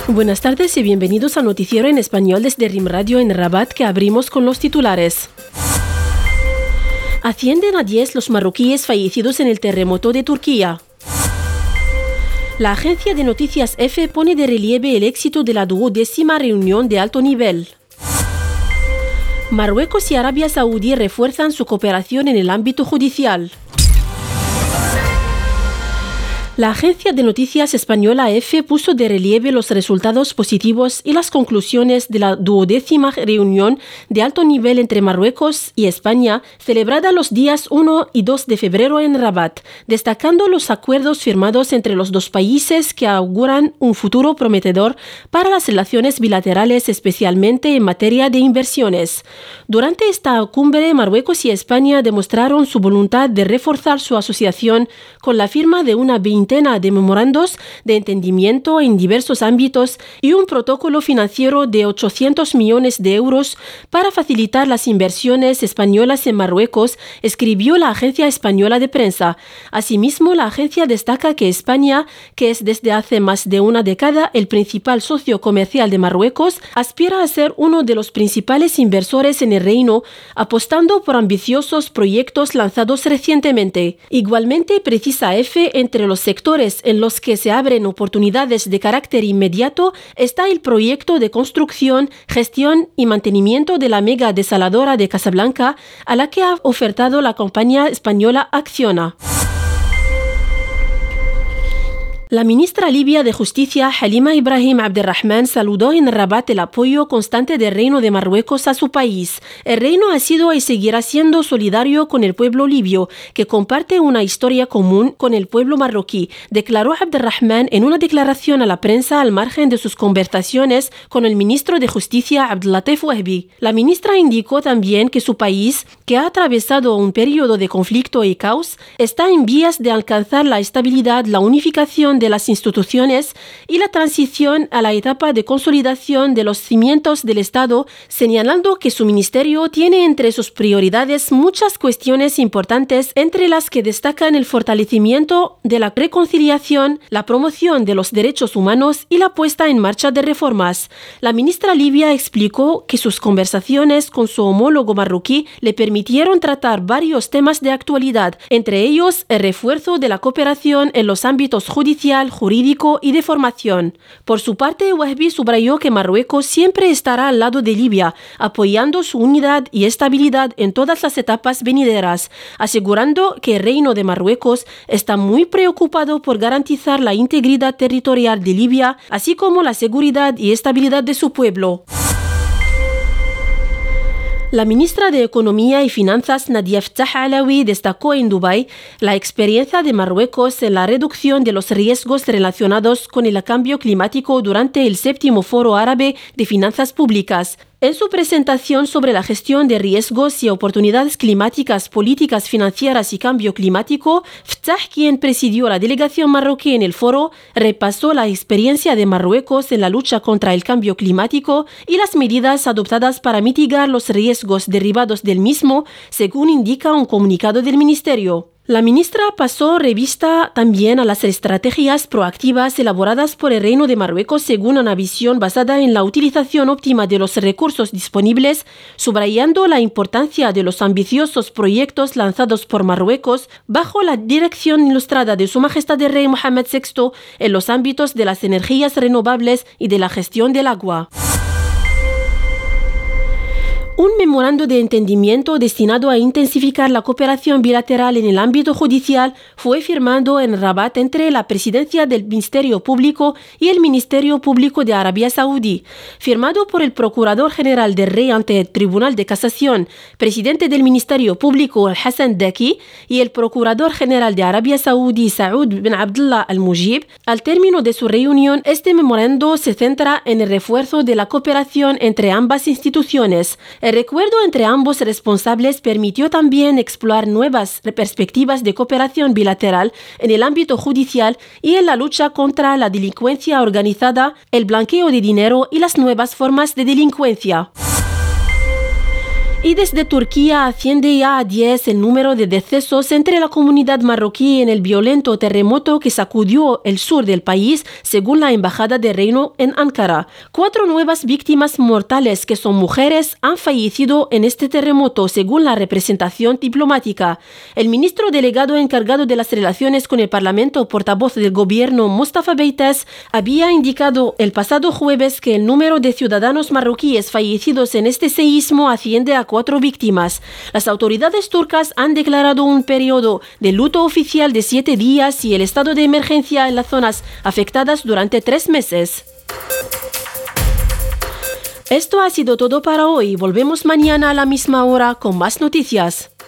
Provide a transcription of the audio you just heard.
Buenas tardes y bienvenidos al noticiero en español desde RIM Radio en Rabat, que abrimos con los titulares. Ascienden a 10 los marroquíes fallecidos en el terremoto de Turquía. La agencia de noticias EFE pone de relieve el éxito de la 12ª reunión de alto nivel. Marruecos y Arabia Saudí refuerzan su cooperación en el ámbito judicial. La agencia de noticias española EFE puso de relieve los resultados positivos y las conclusiones de la 12ª reunión de alto nivel entre Marruecos y España, celebrada los días 1 y 2 de febrero en Rabat, destacando los acuerdos firmados entre los dos países que auguran un futuro prometedor para las relaciones bilaterales, especialmente en materia de inversiones. Durante esta cumbre, Marruecos y España demostraron su voluntad de reforzar su asociación con la firma de una veintena de memorandos de entendimiento en diversos ámbitos y un protocolo financiero de 800 millones de euros para facilitar las inversiones españolas en Marruecos, escribió la agencia española de prensa. Asimismo, la agencia destaca que España, que es desde hace más de una década el principal socio comercial de Marruecos, aspira a ser uno de los principales inversores en el reino, apostando por ambiciosos proyectos lanzados recientemente. Igualmente, precisa EFE, entre los sectores en los que se abren oportunidades de carácter inmediato está el proyecto de construcción, gestión y mantenimiento de la mega desaladora de Casablanca, a la que ha ofertado la compañía española Acciona. La ministra libia de Justicia, Halima Ibrahim Abderrahman, saludó en Rabat el apoyo constante del Reino de Marruecos a su país. El Reino ha sido y seguirá siendo solidario con el pueblo libio, que comparte una historia común con el pueblo marroquí, declaró Abderrahman en una declaración a la prensa al margen de sus conversaciones con el ministro de Justicia, Abdellatif Wahbi. La ministra indicó también que su país, que ha atravesado un periodo de conflicto y caos, está en vías de alcanzar la estabilidad, la unificación de las instituciones y la transición a la etapa de consolidación de los cimientos del Estado, señalando que su ministerio tiene entre sus prioridades muchas cuestiones importantes, entre las que destacan el fortalecimiento de la reconciliación, la promoción de los derechos humanos y la puesta en marcha de reformas. La ministra libia explicó que sus conversaciones con su homólogo marroquí le permitieron tratar varios temas de actualidad, entre ellos el refuerzo de la cooperación en los ámbitos judicial, jurídico y de formación. Por su parte, Wahbi subrayó que Marruecos siempre estará al lado de Libia, apoyando su unidad y estabilidad en todas las etapas venideras, asegurando que el Reino de Marruecos está muy preocupado por garantizar la integridad territorial de Libia, así como la seguridad y estabilidad de su pueblo. La ministra de Economía y Finanzas, Nadia Ftah Alawi, destacó en Dubái la experiencia de Marruecos en la reducción de los riesgos relacionados con el cambio climático durante el 7º Foro Árabe de Finanzas Públicas. En su presentación sobre la gestión de riesgos y oportunidades climáticas, políticas financieras y cambio climático, Ftah, quien presidió la delegación marroquí en el foro, repasó la experiencia de Marruecos en la lucha contra el cambio climático y las medidas adoptadas para mitigar los riesgos derivados del mismo, según indica un comunicado del ministerio. La ministra pasó revista también a las estrategias proactivas elaboradas por el Reino de Marruecos según una visión basada en la utilización óptima de los recursos disponibles, subrayando la importancia de los ambiciosos proyectos lanzados por Marruecos bajo la dirección ilustrada de Su Majestad el Rey Mohammed VI en los ámbitos de las energías renovables y de la gestión del agua. Un memorando de entendimiento destinado a intensificar la cooperación bilateral en el ámbito judicial fue firmado en Rabat entre la Presidencia del Ministerio Público y el Ministerio Público de Arabia Saudí. Firmado por el Procurador General del Rey ante el Tribunal de Casación, Presidente del Ministerio Público Hassan Daki y el Procurador General de Arabia Saudí Saud bin Abdullah al-Mujib, al término de su reunión, este memorando se centra en el refuerzo de la cooperación entre ambas instituciones. El recuerdo entre ambos responsables permitió también explorar nuevas perspectivas de cooperación bilateral en el ámbito judicial y en la lucha contra la delincuencia organizada, el blanqueo de dinero y las nuevas formas de delincuencia. Y desde Turquía asciende ya a 10 el número de decesos entre la comunidad marroquí en el violento terremoto que sacudió el sur del país, según la Embajada de Reino en Ankara. 4 nuevas víctimas mortales, que son mujeres, han fallecido en este terremoto, según la representación diplomática. El ministro delegado encargado de las relaciones con el Parlamento, portavoz del gobierno, Mustafa Beites, había indicado el pasado jueves que el número de ciudadanos marroquíes fallecidos en este seísmo asciende a 4 víctimas. Las autoridades turcas han declarado un periodo de luto oficial de 7 días y el estado de emergencia en las zonas afectadas durante 3 meses. Esto ha sido todo para hoy. Volvemos mañana a la misma hora con más noticias.